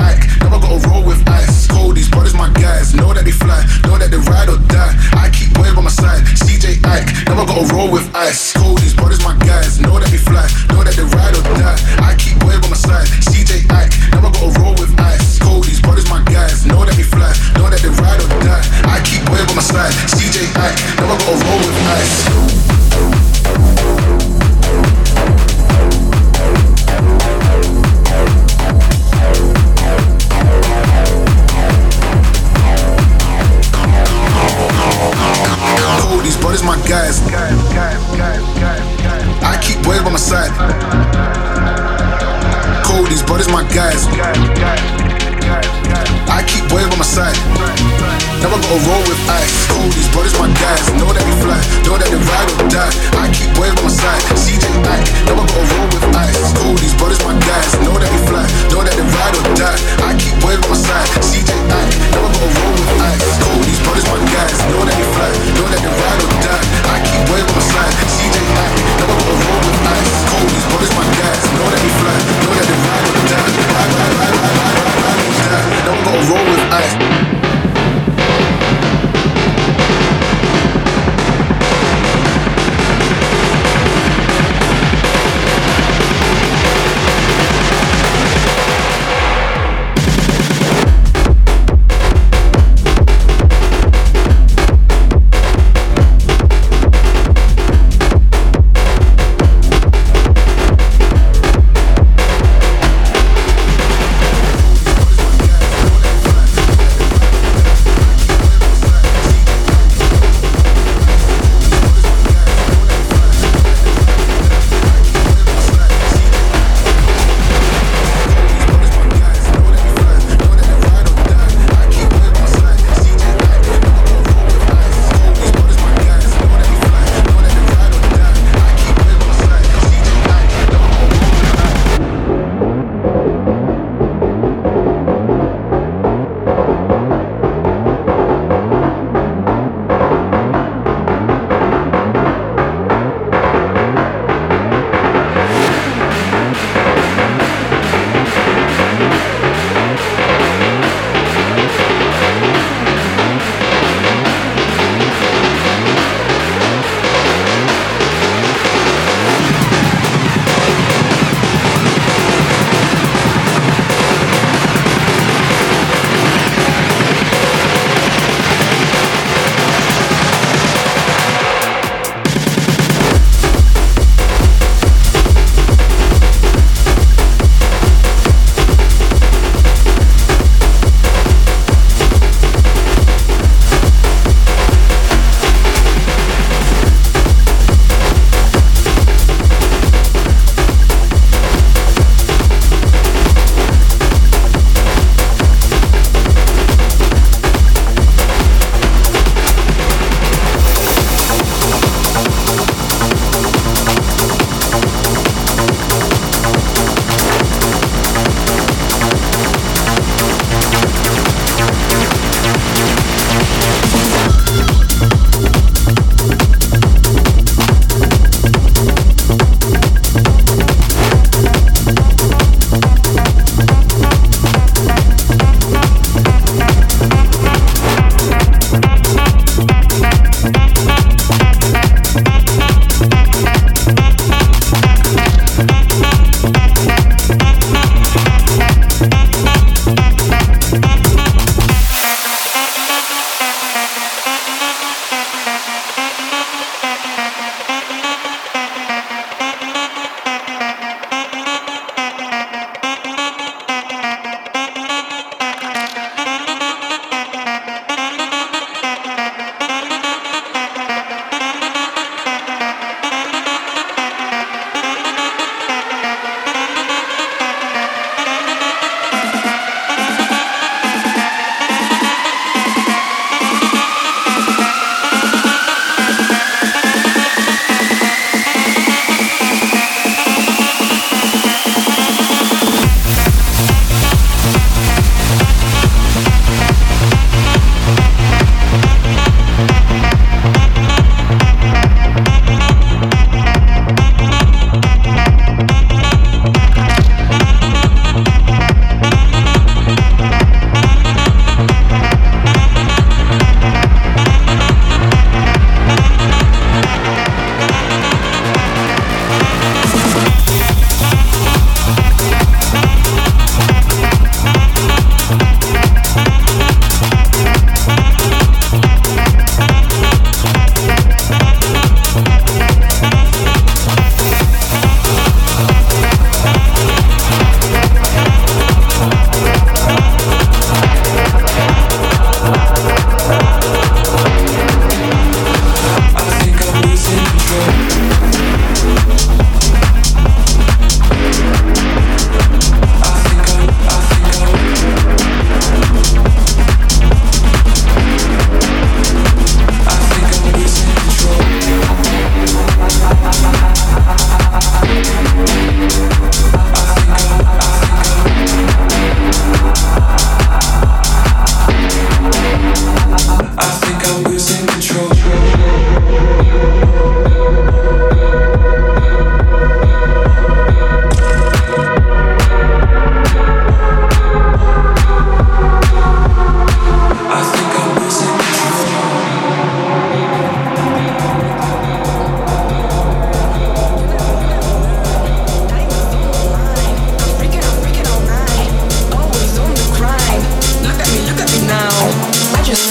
Ike, never gotta roll with ice. Cold, these brothers my guys, know that they fly, know that they ride or die. I keep Wave by my side, CJ Ike, never gotta roll with ice. Cold, these brothers my guys, know that they fly, know that they ride or die. I keep Wave by my side, CJ Ike, never gotta roll with ice. Cold, these brothers my guys, know that they fly, know that they ride or die. I keep Wave by my side, CJ Ike, never gotta roll with ice. These brothers my guys. I keep Wave by my side. Cold, these brothers my guys. I keep Wave by my side. Never gotta roll with ice. Cold, these brothers my guys. Know that they fly, know that they ride or die. I keep Wave by my side. CJ Ike, never gotta roll with ice. Cold, these brothers my guys. Know that they fly, know that they ride or die. I keep Wave by my side. CJ Ike, never gotta roll with ice. Cold, these brothers my guys. Know that they fly, know that they ride or die. I keep Wave by my side. CJ Ike, never gotta roll with ice. Cold, these brothers my guys. Know that they fly, know that they ride or die. Ride or die. Never gotta roll with ice.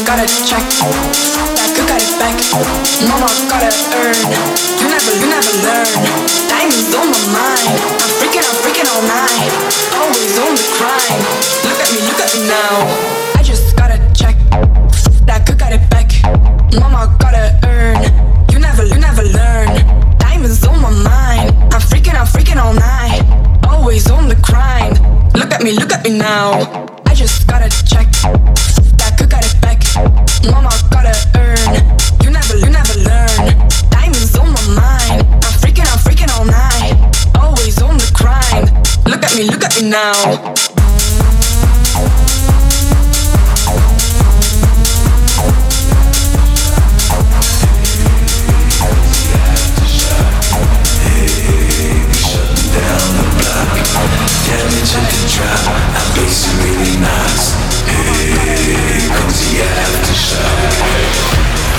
gotta check. That good got it back. Mama gotta earn. You never learn. Diamonds on my mind. I'm freaking all night. Always on the grind. Look at me now. I just gotta check. That good got it back. Mama gotta earn. You never learn. Diamonds on my mind. I'm freaking all night. Always on the grind. Look at me now. I just gotta check. That good got it back. Mama gotta earn. You never learn. Diamonds on my mind. I'm freaking all night. Always on the grind. Look at me now. Damage and control, our bass is really nice. Here comes the aftershock.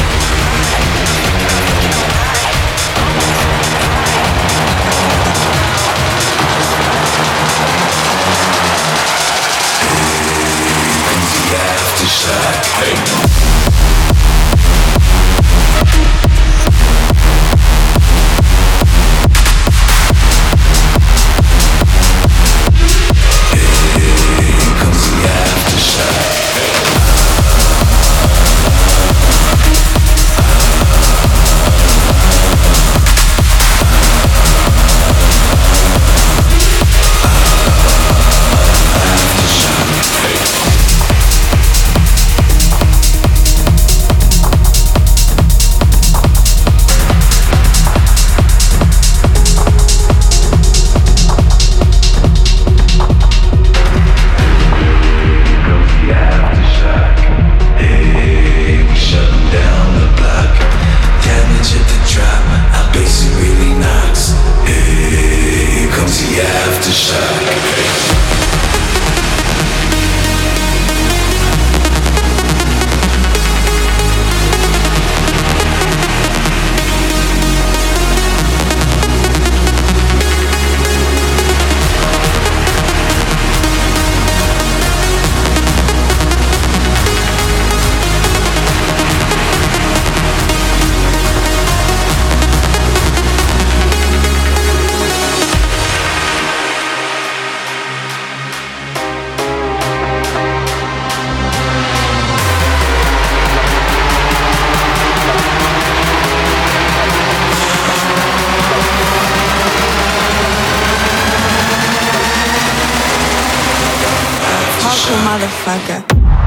Motherfucker.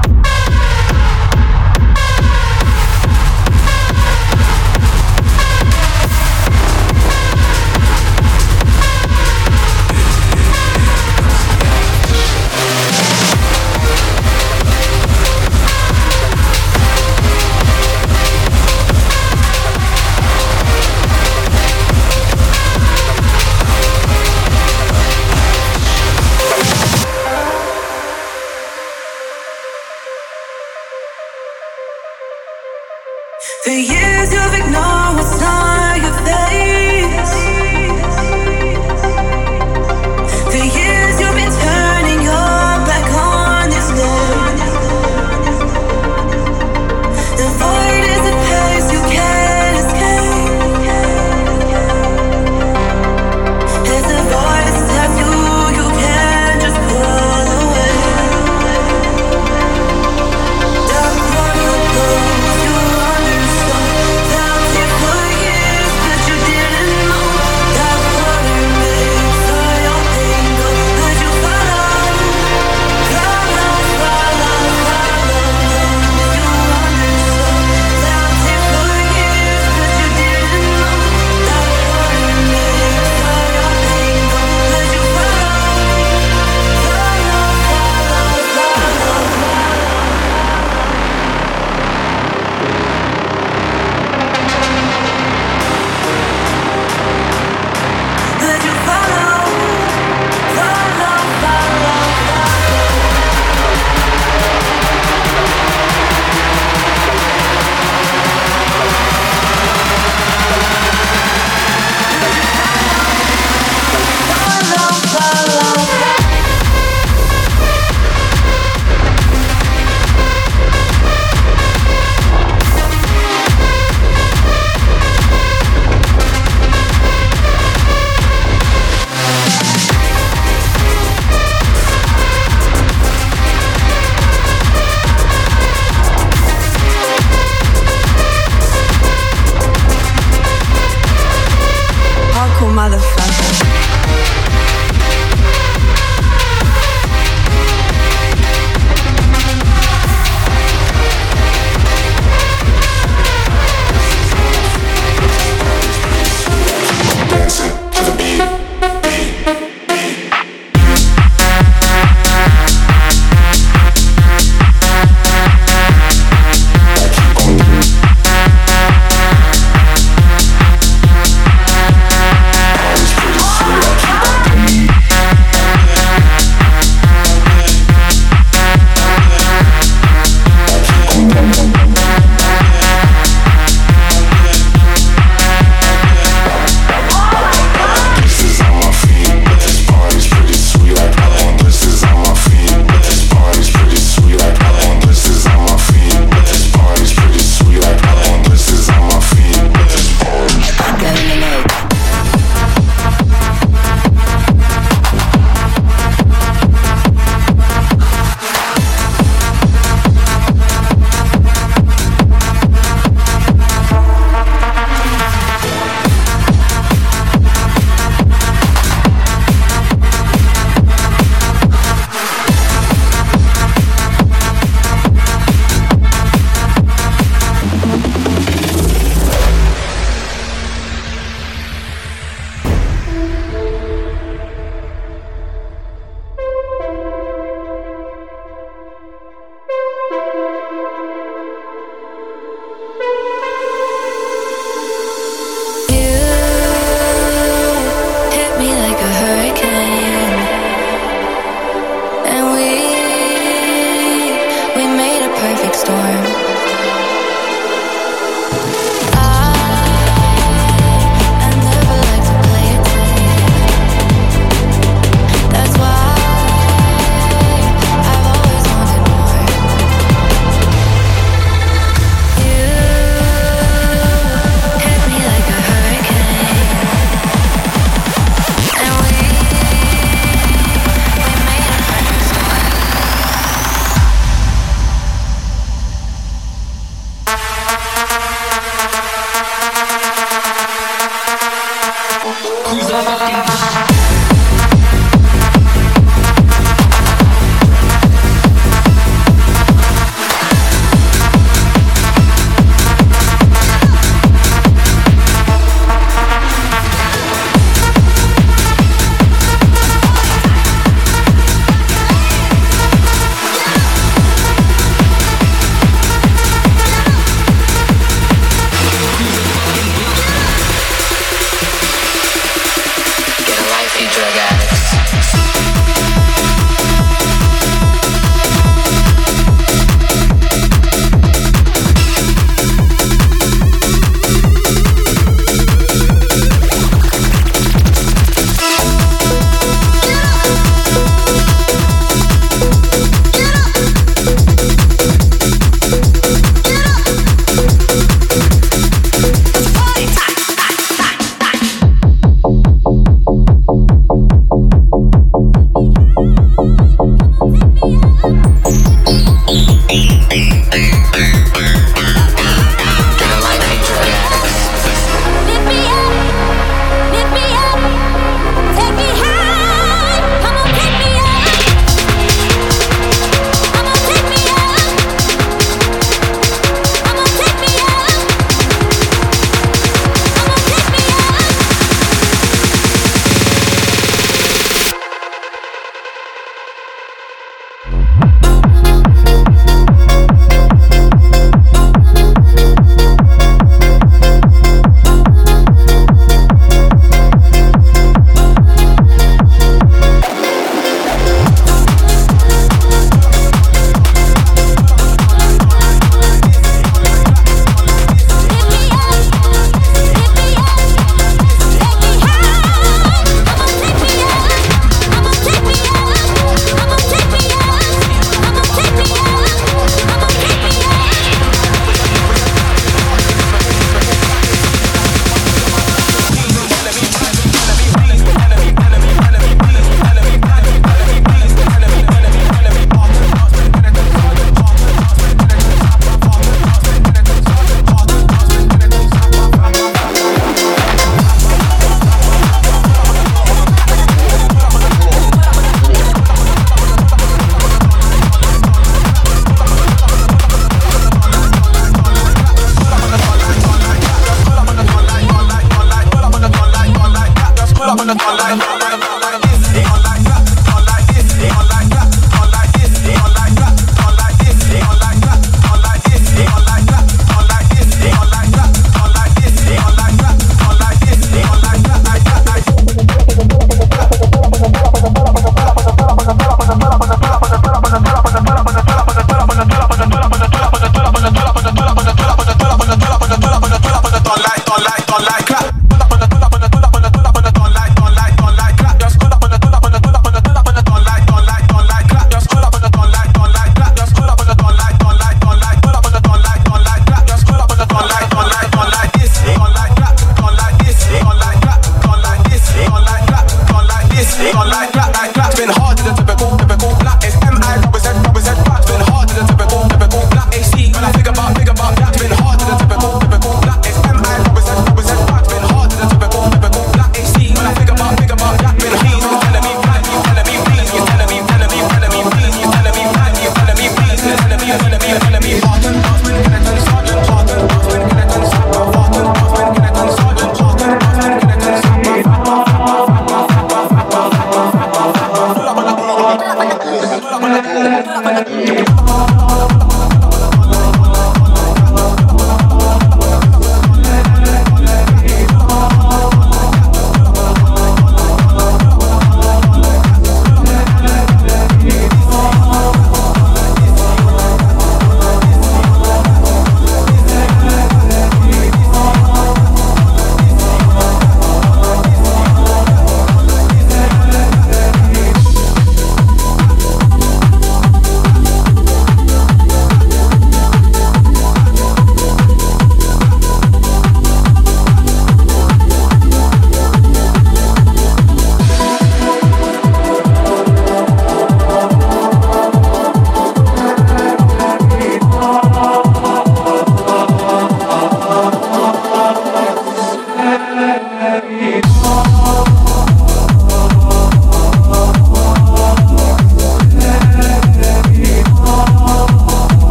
For years you've ignored what's on your face. For years you've been turning your back on this love. The void is a place you can't escape. There's a voice that's you can't just pull away. Dark chronicles you understand. Felt it for years.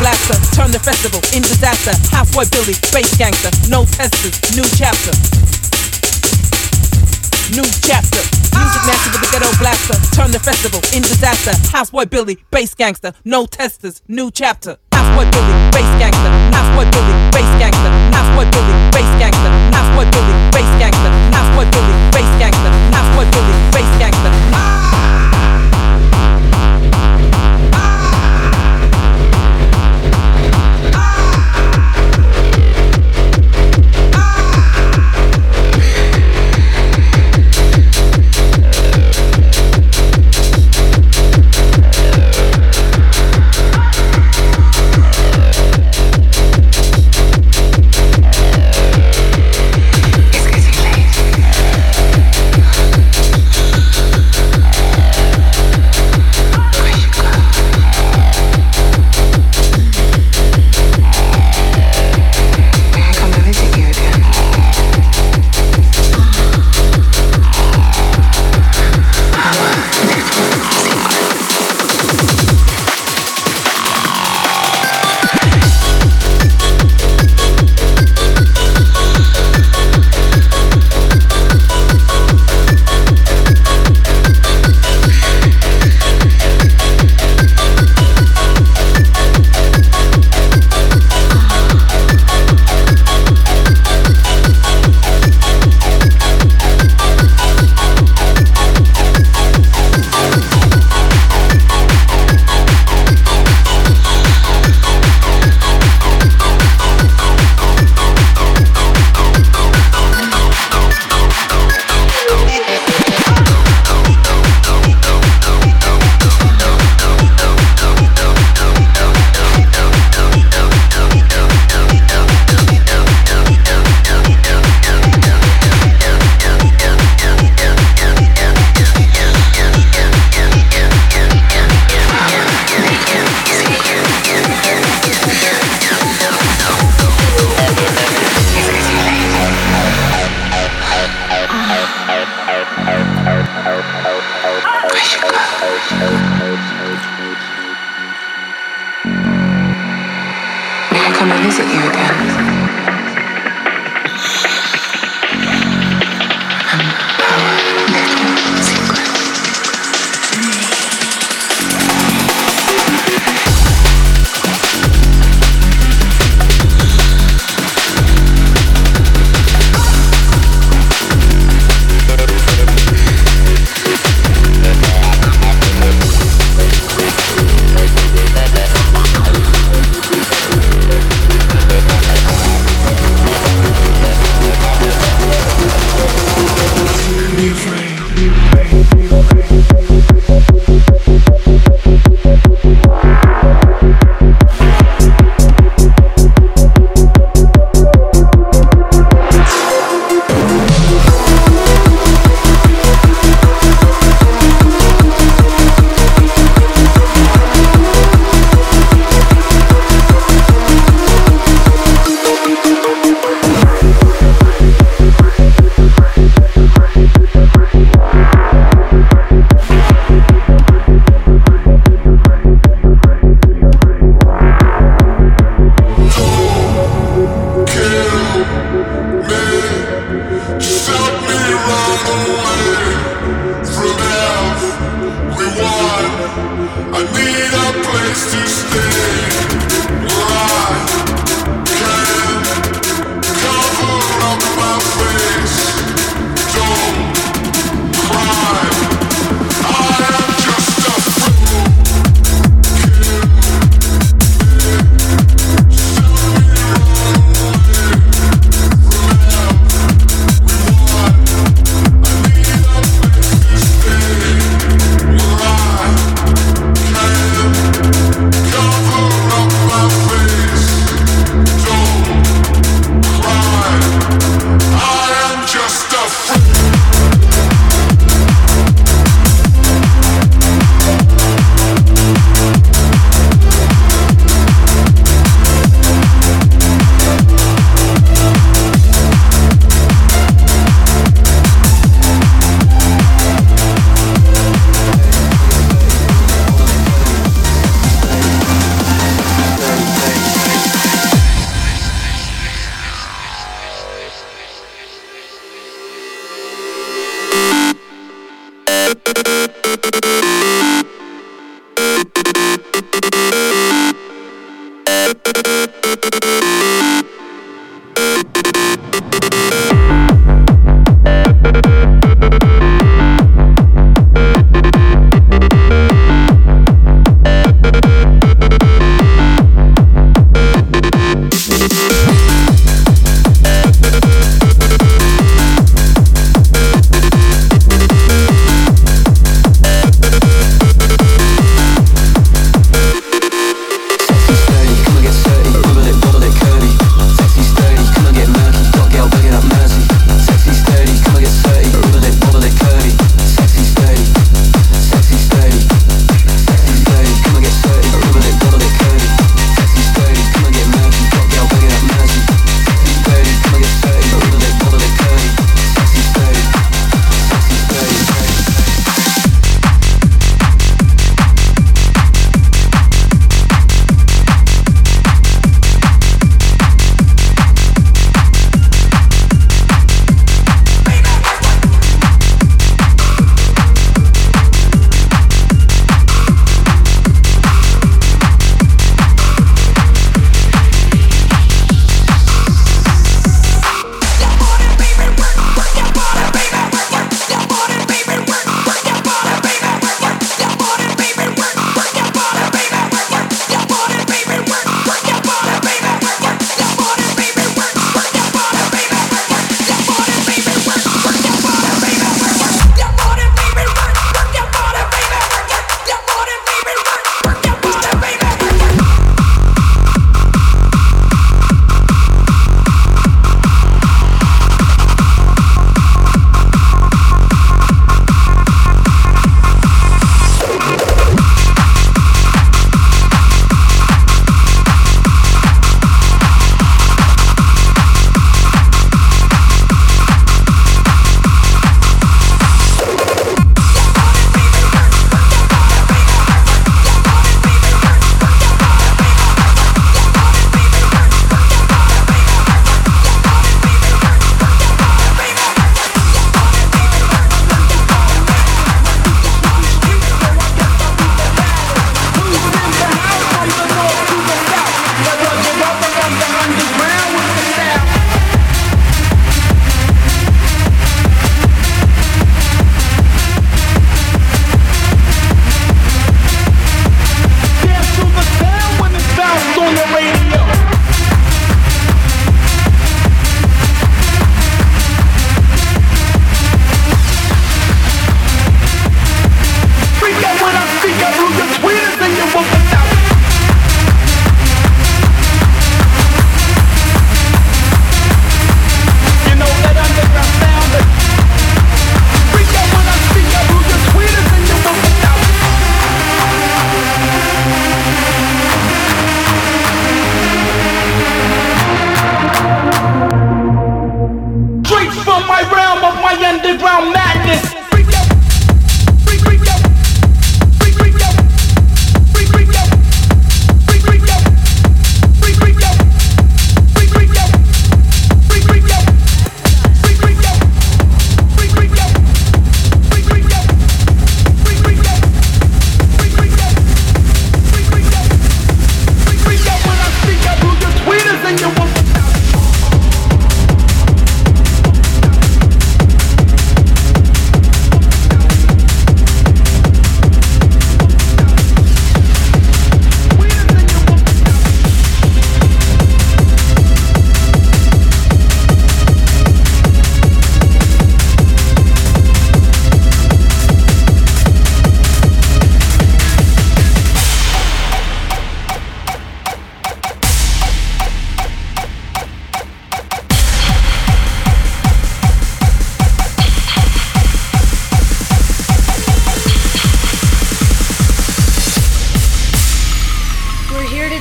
blaster, turn the festival in disaster. Houseboy Billy, bass gangster, no testers, new chapter. New chapter. Music master with the ghetto blaster, turn the festival in disaster. Houseboy Billy, bass gangster, no testers, new chapter. Houseboy Billy, bass gangster. Houseboy Billy, bass gangster. Houseboy Billy, bass gangster. Houseboy Billy, bass gangster. Houseboy Billy, bass gangster. Houseboy Billy, bass gangster.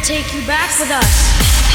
to take you back with us.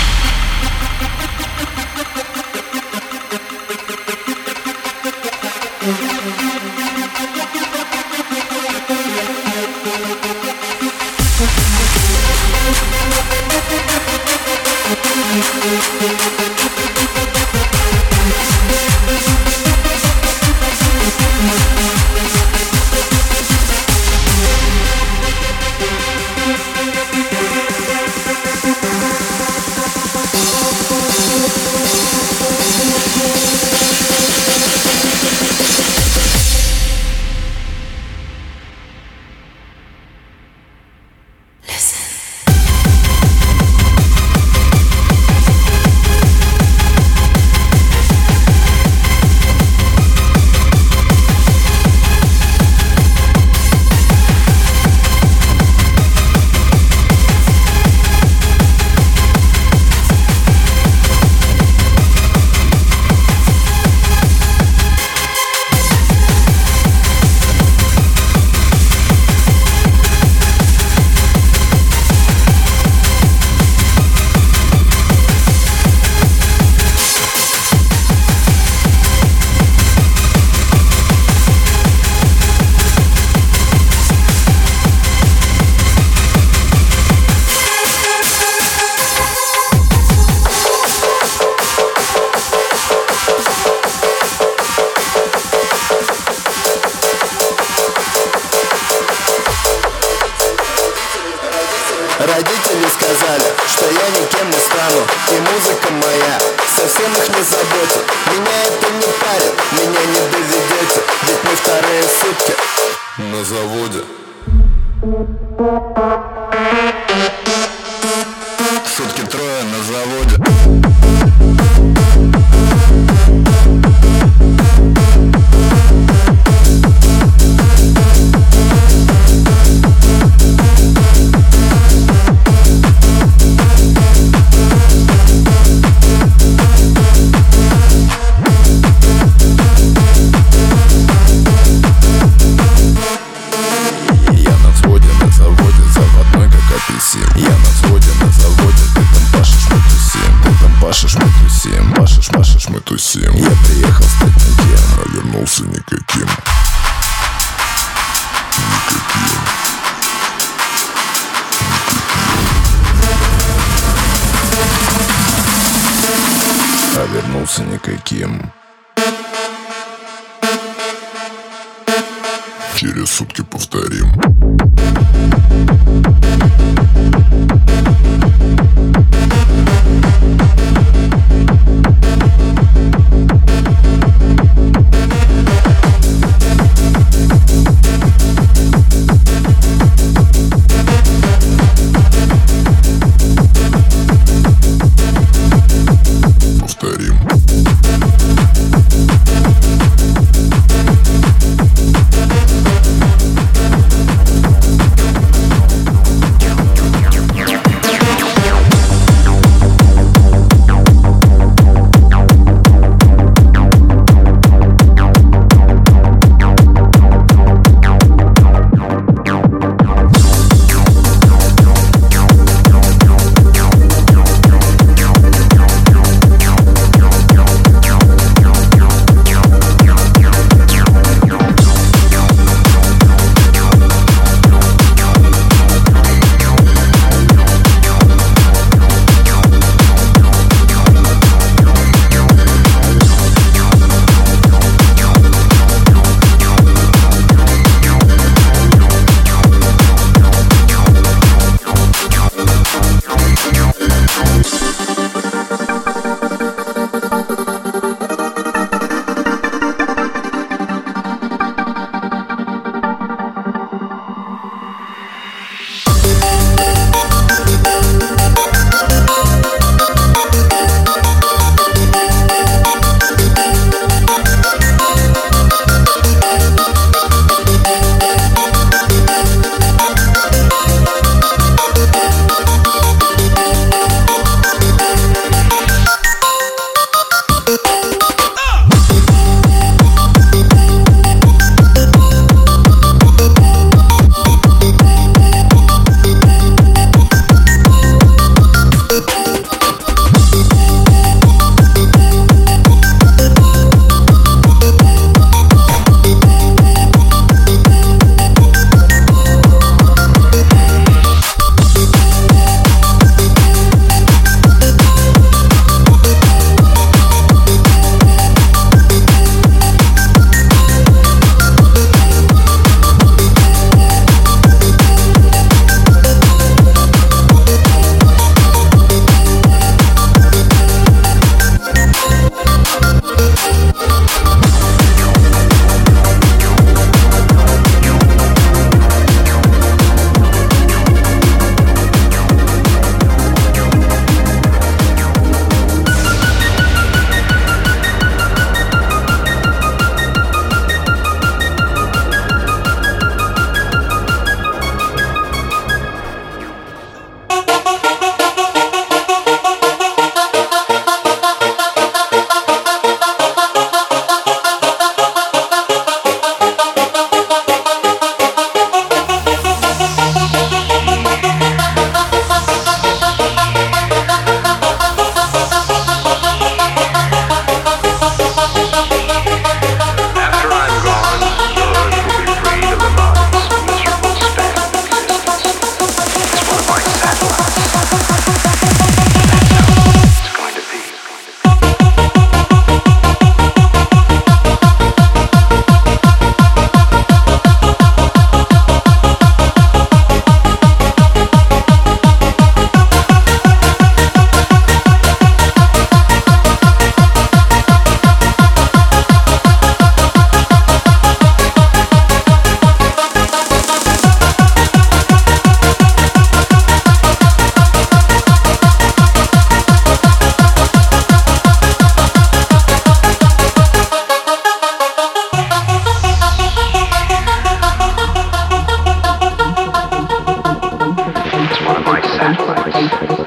Родители сказали, что я никем не стану, и музыка моя совсем их не заботит. Меня это не парит, меня не доведете, ведь мы вторые сутки на заводе. Сутки трое на заводе. Я на взводе, на заводе, ты там пашешь, мы тусим. Ты там пашешь, мы тусим, пашешь, мы тусим. Я приехал стать никем, а вернулся никаким. А вернулся никаким. Через сутки повторим.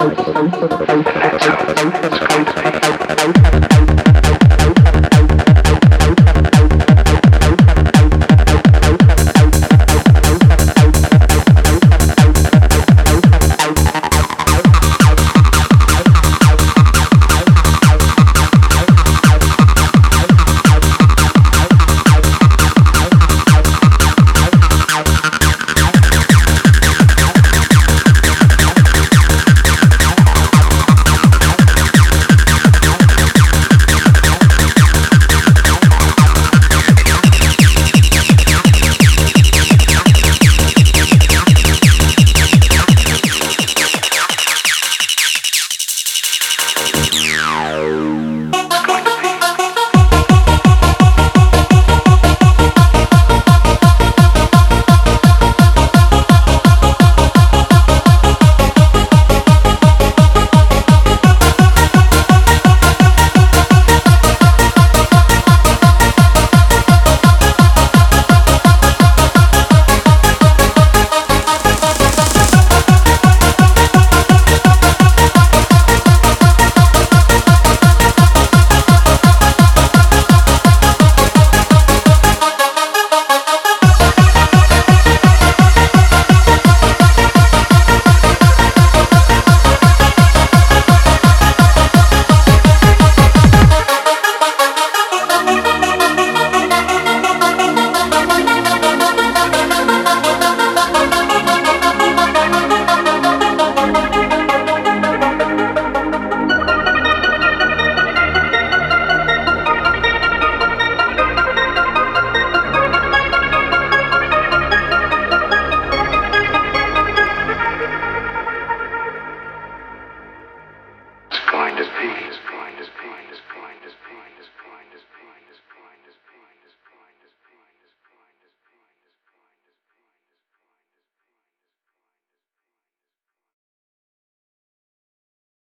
It's going to be.